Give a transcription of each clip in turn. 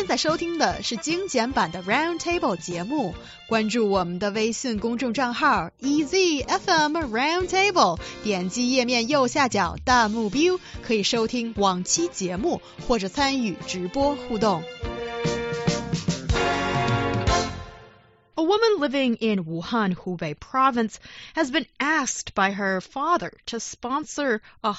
现在收听的是精简版的 Roundtable 节目，关注我们的微信公众账号 EZFM Roundtable， 点击页面右下角弹幕 view， 可以收听往期节目或者参与直播互动。A woman living in Wuhan, Hubei province, has been asked by her father to sponsor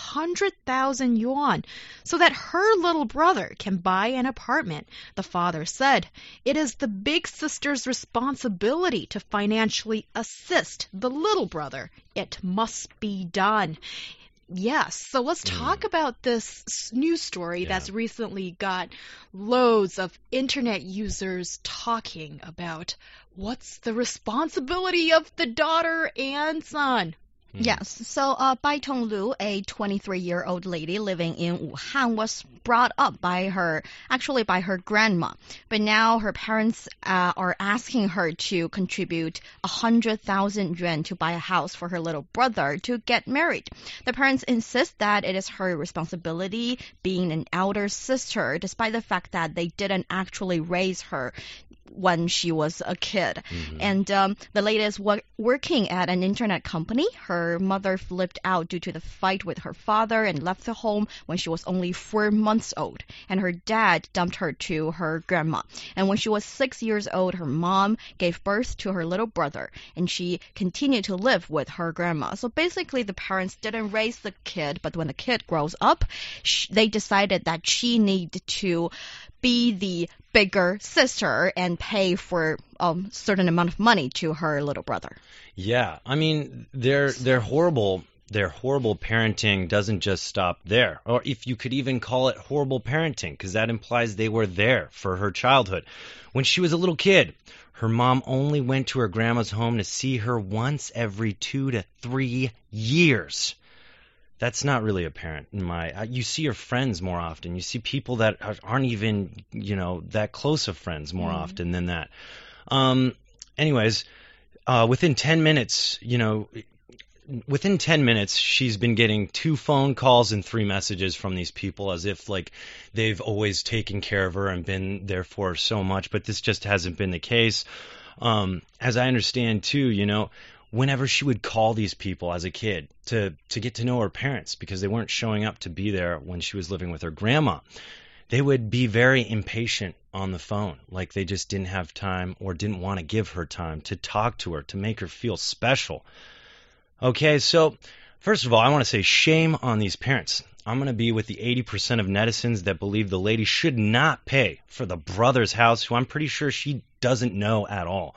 100,000 yuan so that her little brother can buy an apartment. The father said it is the big sister's responsibility to financially assist the little brother. It must be done.Yes, so let's talk about this news story that's recently got loads of internet users talking about what's the responsibility of the daughter and son. Yes, so Bai Tonglu, a 23-year-old lady living in Wuhan, was brought up by her grandma. But now her parents are asking her to contribute 100,000 yuan to buy a house for her little brother to get married. The parents insist that it is her responsibility, being an elder sister, despite the fact that they didn't actually raise her when she was a kid. And the lady is working at an internet company. Her mother flipped out due to the fight with her father and left the home when she was only 4 months old. And her dad dumped her to her grandma. And when she was 6 years old, her mom gave birth to her little brother. And she continued to live with her grandma. So basically, the parents didn't raise the kid, but when the kid grows up, they decided that she needed to be the bigger sister and pay for a certain amount of money to her little brother. Yeah, I mean, their horrible parenting doesn't just stop there. Or if you could even call it horrible parenting, because that implies they were there for her childhood. When she was a little kid, her mom only went to her grandma's home to see her once every 2 to 3 years. That's not really apparent in you see your friends more often. You see people that aren't even, that close of friends more often than that. Anyways, within 10 minutes, she's been getting 2 phone calls and 3 messages from these people as if like they've always taken care of her and been there for her so much, but this just hasn't been the case. As I understand too, whenever she would call these people as a kid to get to know her parents because they weren't showing up to be there when she was living with her grandma, they would be very impatient on the phone, like they just didn't have time or didn't want to give her time to talk to her, to make her feel special. Okay, so first of all, I want to say shame on these parents. I'm going to be with the 80% of netizens that believe the lady should not pay for the brother's house, who I'm pretty sure she doesn't know at all.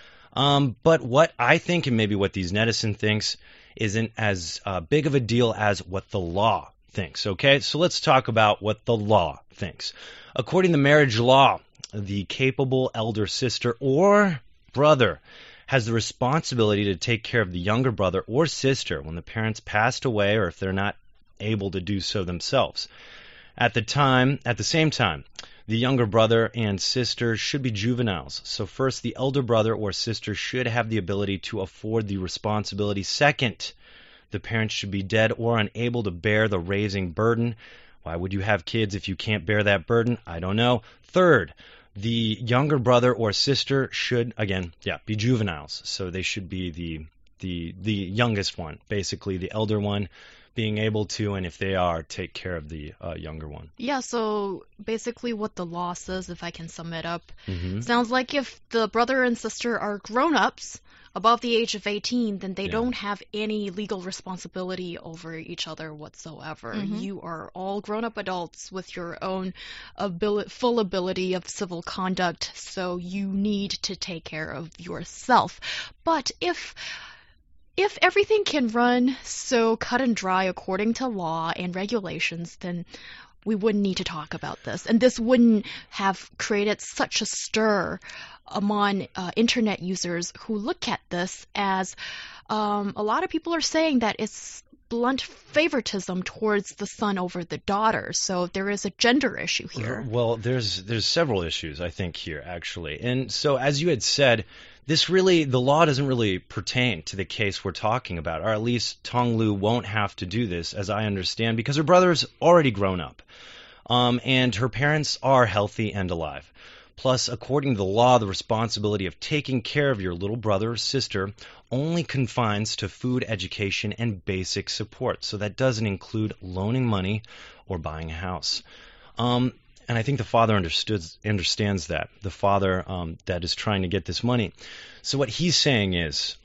But what I think, and maybe what these netizens thinks, isn't as big of a deal as what the law thinks, okay? So let's talk about what the law thinks. According to marriage law, the capable elder sister or brother has the responsibility to take care of the younger brother or sister when the parents passed away or if they're not able to do so themselves. At the same time, the younger brother and sister should be juveniles. So first, the elder brother or sister should have the ability to afford the responsibility. Second, the parents should be dead or unable to bear the raising burden. Why would you have kids if you can't bear that burden? I don't know. Third, the younger brother or sister should, be juveniles. So they should be the youngest one, basically the elder one, being able to, and if they are, take care of the younger one. Yeah, so basically what the law says, if I can sum it up, sounds like if the brother and sister are grown-ups above the age of 18, then they don't have any legal responsibility over each other whatsoever. You are all grown-up adults with your own full ability of civil conduct, so you need to take care of yourself. But if everything can run so cut and dry according to law and regulations, then we wouldn't need to talk about this. And this wouldn't have created such a stir among internet users who look at this as a lot of people are saying that it's blunt favoritism towards the son over the daughter. So there is a gender issue here. Well, there's several issues, I think, here, actually. And so as you had said, the law doesn't really pertain to the case we're talking about, or at least Tonglu won't have to do this, as I understand, because her brother's already grown up. and her parents are healthy and alive. Plus, according to the law, the responsibility of taking care of your little brother or sister only confines to food, education, and basic support. So that doesn't include loaning money or buying a house. And I think the father understands that, the father that is trying to get this money. So what he's saying is,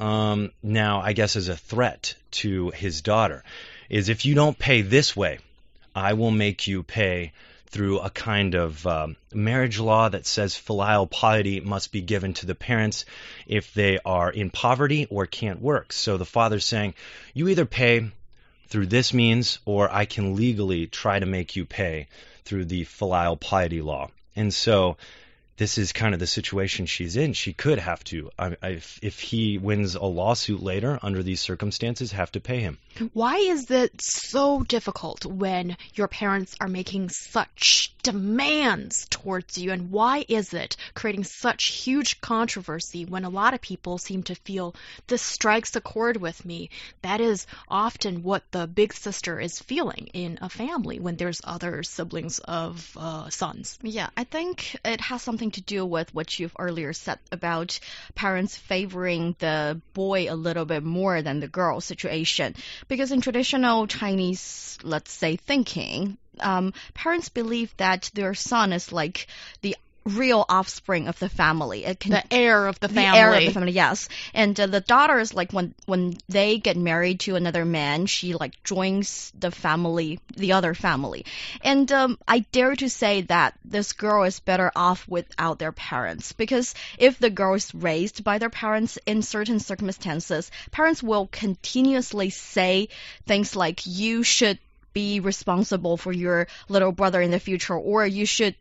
now I guess as a threat to his daughter, is if you don't pay this way, I will make you pay through a kind of marriage law that says filial piety must be given to the parents if they are in poverty or can't work. So the father's saying, you either pay through this means, or I can legally try to make you pay through the filial piety law. And so this is kind of the situation she's in. She could have to, if he wins a lawsuit later under these circumstances, have to pay him. Why is it so difficult when your parents are making such demands towards you? And why is it creating such huge controversy when a lot of people seem to feel this strikes a chord with me? That is often what the big sister is feeling in a family when there's other siblings of sons. Yeah, I think it has something to do with what you've earlier said about parents favoring the boy a little bit more than the girl situation. Because in traditional Chinese, let's say, thinking, parents believe that their son is like the real offspring of the family. The heir of the family. The heir of the family, yes. And the daughter is like when they get married to another man, she like joins the family, the other family. And I dare to say that this girl is better off without their parents, because if the girl is raised by their parents in certain circumstances, parents will continuously say things like, you should be responsible for your little brother in the future, or you should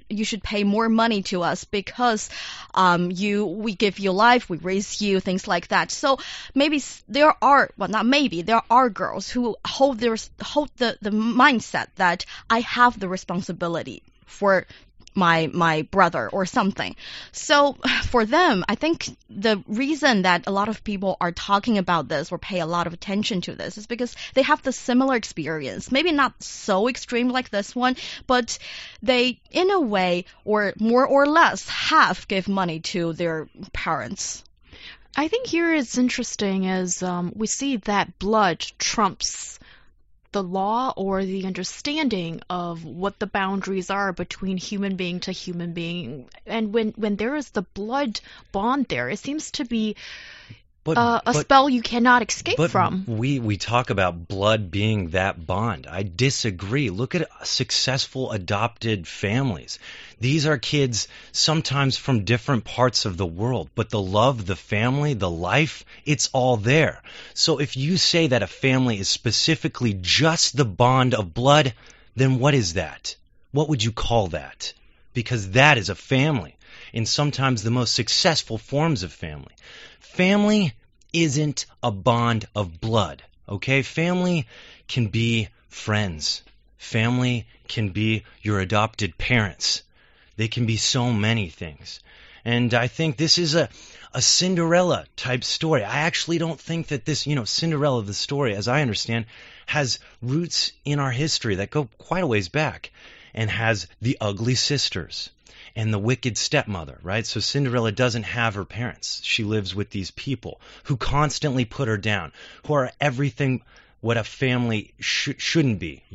pay more money to us because we give you life, we raise you, things like that. So maybe there are girls who hold the mindset that I have the responsibility for my brother or something. So for them, I think the reason that a lot of people are talking about this or pay a lot of attention to this is because they have the similar experience. Maybe not so extreme like this one, but they, in a way, or more or less, have give money to their parents. I think here it's interesting is we see that blood trumps the law or the understanding of what the boundaries are between human being to human being. And when there is the blood bond there, it seems to be a spell you cannot escape from. We talk about blood being that bond. I disagree. Look at successful adopted families. These are kids sometimes from different parts of the world, but the love, the family, the life, it's all there. So if you say that a family is specifically just the bond of blood, then what is that? What would you call that? Because that is a family, in sometimes the most successful forms of family. Family isn't a bond of blood, okay? Family can be friends. Family can be your adopted parents. They can be so many things. And I think this is a Cinderella type story. I actually don't think that this, Cinderella, the story, as I understand, has roots in our history that go quite a ways back, and has the ugly sisters and the wicked stepmother, right? So Cinderella doesn't have her parents. She lives with these people who constantly put her down, who are everything what a family shouldn't be,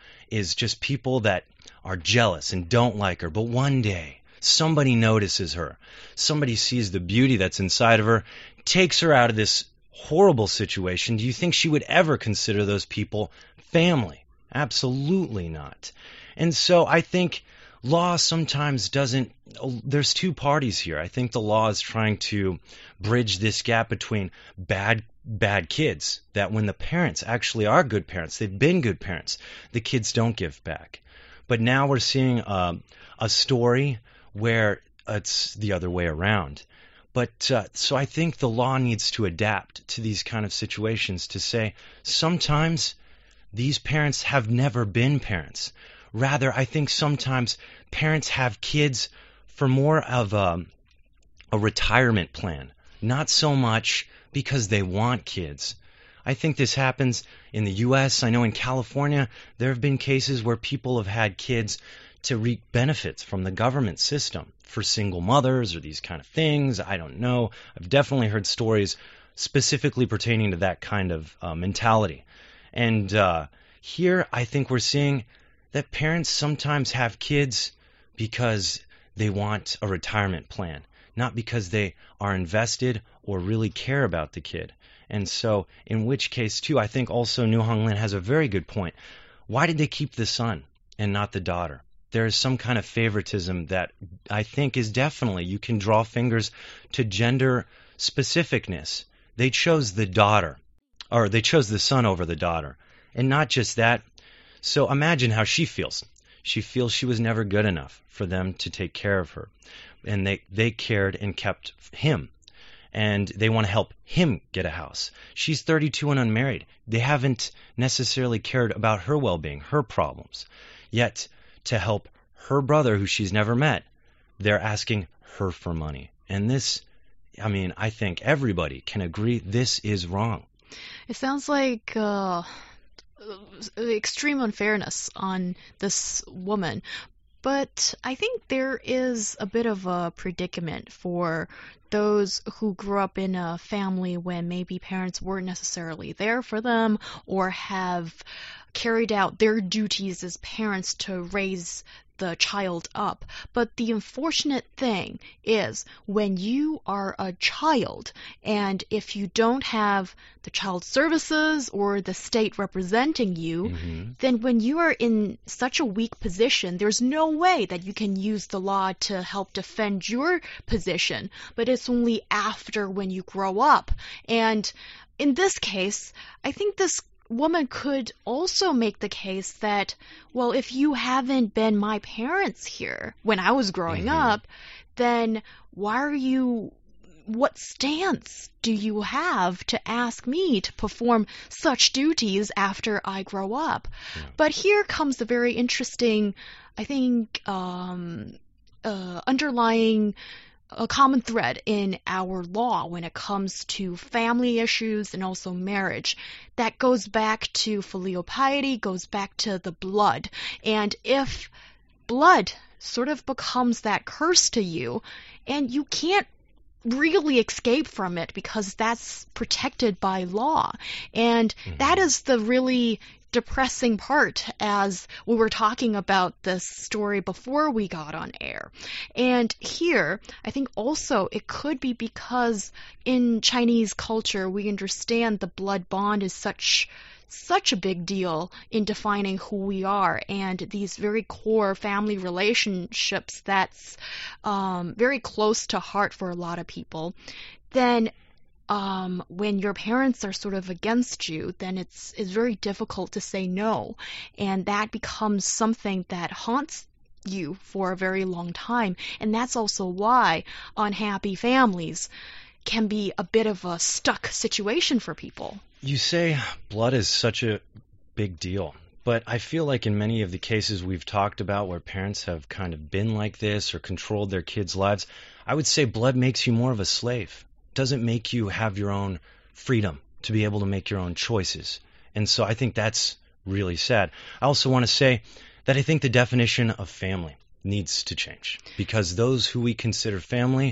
is just people that are jealous and don't like her. But one day, somebody notices her. Somebody sees the beauty that's inside of her, takes her out of this horrible situation. Do you think she would ever consider those people family? Absolutely not. And so I think law sometimes doesn't, there's two parties here. I think the law is trying to bridge this gap between bad kids, that when the parents actually are good parents, they've been good parents, the kids don't give back. But now we're seeing a story where it's the other way around. But so I think the law needs to adapt to these kind of situations to say sometimes these parents have never been parents. Rather, I think sometimes parents have kids for more of a retirement plan, not so much because they want kids. I think this happens in the U.S. I know in California there have been cases where people have had kids to reap benefits from the government system for single mothers or these kind of things. I don't know. I've definitely heard stories specifically pertaining to that kind of mentality. And here I think we're seeing that parents sometimes have kids because they want a retirement plan, not because they are invested or really care about the kid. And so, in which case, too, I think also New Hong Lin has a very good point. Why did they keep the son and not the daughter? There is some kind of favoritism that I think is definitely, you can draw fingers to gender specificness. They chose the daughter, or they chose the son over the daughter. And not just that. So imagine how she feels. She feels she was never good enough for them to take care of her. And they cared and kept him. And they want to help him get a house. She's 32 and unmarried. They haven't necessarily cared about her well-being, her problems. Yet, to help her brother, who she's never met, they're asking her for money. And this, I mean, I think everybody can agree this is wrong. It sounds like extreme unfairness on this woman. But I think there is a bit of a predicament for those who grew up in a family when maybe parents weren't necessarily there for them or have carried out their duties as parents to raise the child up. But the unfortunate thing is when you are a child and if you don't have the child services or the state representing you, then when you are in such a weak position, there's no way that you can use the law to help defend your position. But it's only after when you grow up. And in this case, I think this woman could also make the case that, well, if you haven't been my parents here when I was growing up, then what stance do you have to ask me to perform such duties after I grow up? Yeah. But here comes the very interesting, I think, underlying a common thread in our law when it comes to family issues and also marriage. That goes back to filial piety, goes back to the blood. And if blood sort of becomes that curse to you, and you can't really escape from it because that's protected by law. And that is the really depressing part as we were talking about this story before we got on air. And here, I think also it could be because in Chinese culture, we understand the blood bond is such a big deal in defining who we are, and these very core family relationships that's very close to heart for a lot of people. Then when your parents are sort of against you, then it's very difficult to say no. And that becomes something that haunts you for a very long time. And that's also why unhappy families can be a bit of a stuck situation for people. You say blood is such a big deal. But I feel like in many of the cases we've talked about where parents have kind of been like this or controlled their kids' lives, I would say blood makes you more of a slave. Doesn't make you have your own freedom to be able to make your own choices. And so I think that's really sad. I also want to say that I think the definition of family needs to change because those who we consider family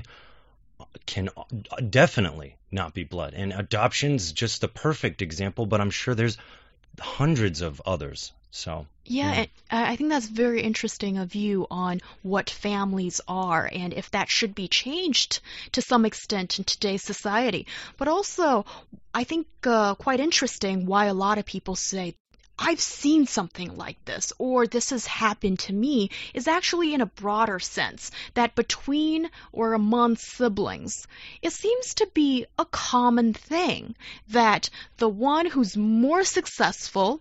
can definitely not be blood. And adoption's just the perfect example, but I'm sure there's hundreds of others. So yeah, I think that's very interesting a view on what families are and if that should be changed to some extent in today's society. But also, I think quite interesting why a lot of people say, I've seen something like this, or this has happened to me, is actually in a broader sense, that between or among siblings, it seems to be a common thing that the one who's more successful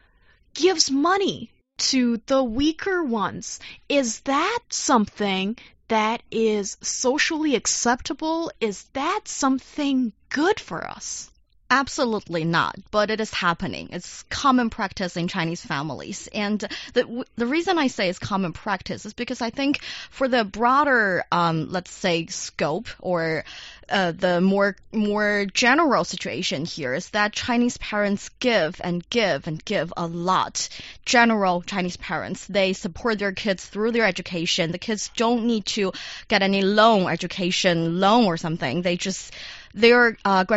gives money to the weaker ones. Is that something that is socially acceptable? Is that something good for us? Absolutely not, but it is happening. It's common practice in Chinese families. And the reason I say it's common practice is because I think for the broader, let's say, scope or the more general situation here is that Chinese parents give and give and give a lot. General Chinese parents, they support their kids through their education. The kids don't need to get any education loan or something. They just their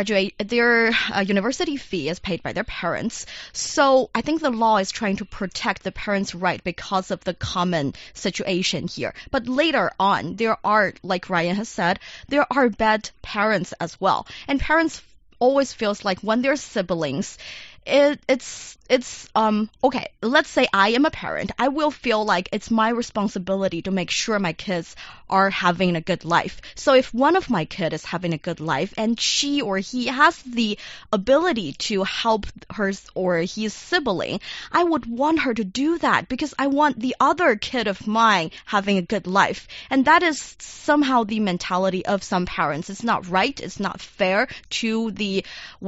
university fee is paid by their parents. So I think the law is trying to protect the parents' right because of the common situation here. But later on, there are, like Ryan has said, there are bad parents as well. And parents always feels like when they're siblings, it's okay, let's say I am a parent. I will feel like it's my responsibility to make sure my kids are having a good life. So if one of my kids is having a good life and she or he has the ability to help her or his sibling, I would want her to do that because I want the other kid of mine having a good life. And that is somehow the mentality of some parents. It's not right, it's not fair to the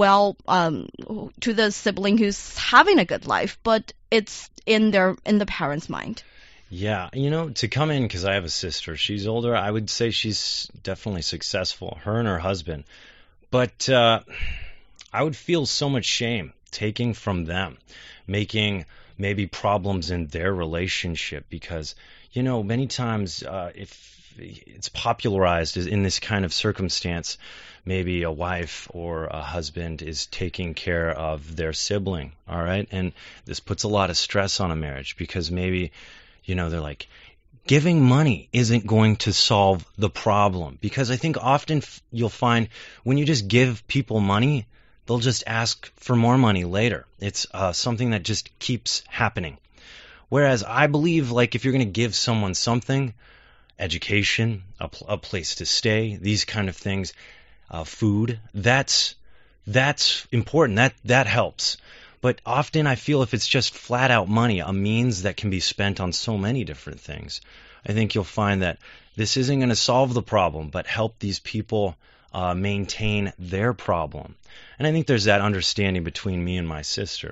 to the sibling who's having a good life, but it's in the parents' mind. Yeah, to come in, because I have a sister, she's older, I would say she's definitely successful, her and her husband. But I would feel so much shame taking from them, making maybe problems in their relationship, because, many times if it's popularized in this kind of circumstance, maybe a wife or a husband is taking care of their sibling, all right? And this puts a lot of stress on a marriage because maybe, they're like, giving money isn't going to solve the problem. Because I think often you'll find when you just give people money, they'll just ask for more money later. It's something that just keeps happening. Whereas I believe, like, if you're going to give someone something, education, a place to stay, these kind of things, food, that's important. That helps. But often I feel if it's just flat out money, a means that can be spent on so many different things, I think you'll find that this isn't going to solve the problem, but help these people maintain their problem. And I think there's that understanding between me and my sister,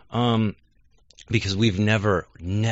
because we've never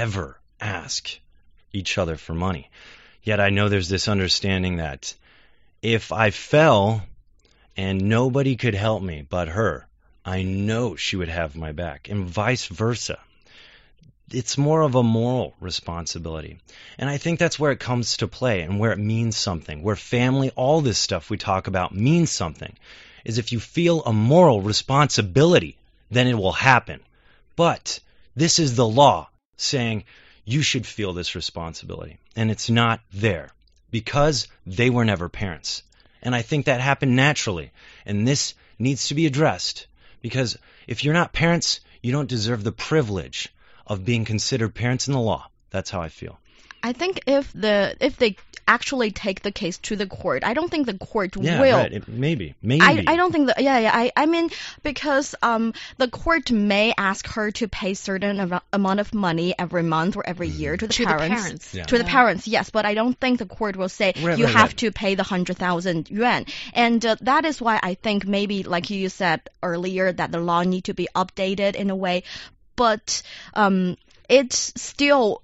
asked each other for money. Yet I know there's this understanding that if I fell and nobody could help me but her, I know she would have my back, and vice versa. It's more of a moral responsibility. And I think that's where it comes to play and where it means something, where family, all this stuff we talk about means something, is if you feel a moral responsibility, then it will happen. But this is the law saying you should feel this responsibility, and it's not there because they were never parents. And I think that happened naturally, and this needs to be addressed. Because if you're not parents, you don't deserve the privilege of being considered parents in the law. That's how I feel. I think if they actually take the case to the court, I don't think the court will. Right. Maybe. I don't think that. I mean, because the court may ask her to pay certain amount of money every month or every year to the parents. To the parents, yes. But I don't think the court will say you have to pay the 100,000 yuan. And that is why I think maybe, like you said earlier, that the law need to be updated in a way. But it's still.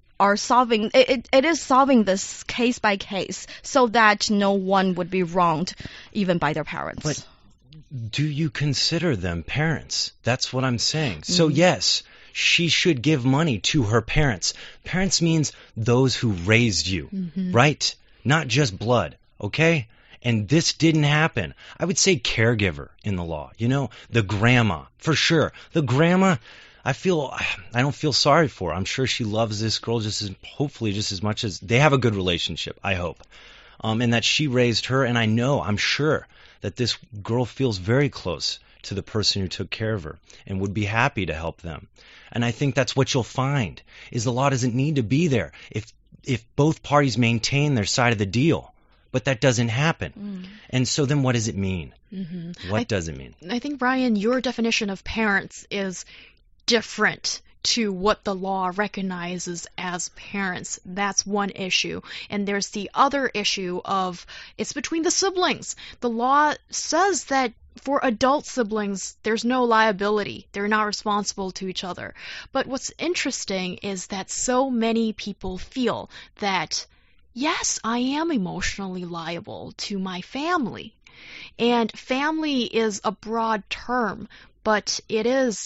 It is solving this case by case so that no one would be wronged even by their parents. But do you consider them parents? That's what I'm saying. So yes, she should give money to her parents. Parents means those who raised you, right? Not just blood, okay? And this didn't happen. I would say caregiver in the law. The grandma, for sure. The grandma, I don't feel sorry for her. I'm sure she loves this girl hopefully just as much as they have a good relationship, I hope. And that she raised her, and I'm sure that this girl feels very close to the person who took care of her and would be happy to help them. And I think that's what you'll find, is the law doesn't need to be there if both parties maintain their side of the deal. But that doesn't happen. And so then what does it mean? What does it mean? I think, Brian, your definition of parents is different to what the law recognizes as parents. That's one issue. And there's the other issue of it's between the siblings. The law says that for adult siblings, there's no liability. They're not responsible to each other. But what's interesting is that so many people feel that, yes, I am emotionally liable to my family. And family is a broad term, but it is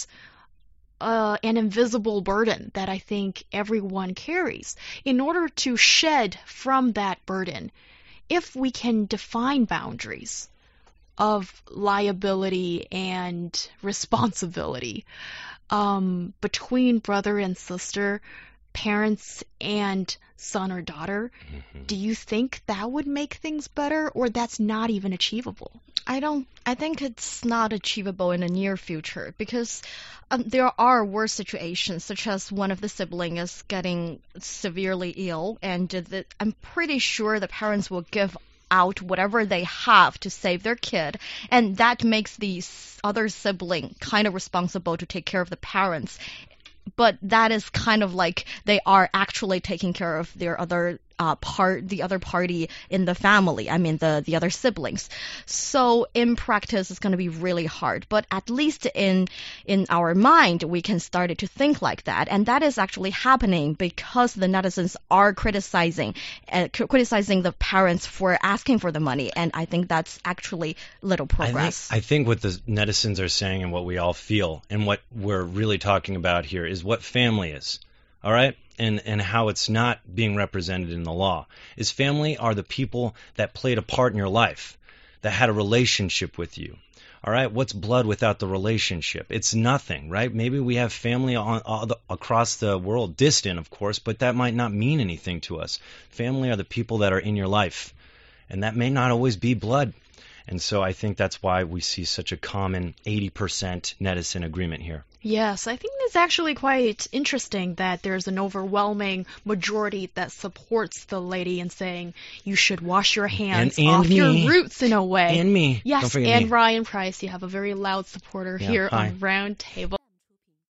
an invisible burden that I think everyone carries. In order to shed from that burden, if we can define boundaries of liability and responsibility between brother and sister, parents and son or daughter, do you think that would make things better, or that's not even achievable? I think it's not achievable in the near future because there are worse situations, such as one of the siblings is getting severely ill, and I'm pretty sure the parents will give out whatever they have to save their kid, and that makes the other sibling kind of responsible to take care of the parents. But that is kind of like they are actually taking care of their other the other party in the family. I mean, the other siblings. So in practice, it's going to be really hard. But at least in our mind, we can start to think like that, and that is actually happening because the netizens are criticizing the parents for asking for the money, and I think that's actually little progress. I think what the netizens are saying and what we all feel and what we're really talking about here is what family is. All right? And how it's not being represented in the law. Is family are the people that played a part in your life, that had a relationship with you. All right? What's blood without the relationship? It's nothing, right? Maybe we have family across the world, distant, of course, but that might not mean anything to us. Family are the people that are in your life, and that may not always be blood. And so I think that's why we see such a common 80% netizen agreement here. Yes, I think it's actually quite interesting that there's an overwhelming majority that supports the lady in saying you should wash your hands and off me. your roots in a way. And me. Yes, Don't forget and me. Ryan Price, you have a very loud supporter here hi. on Roundtable.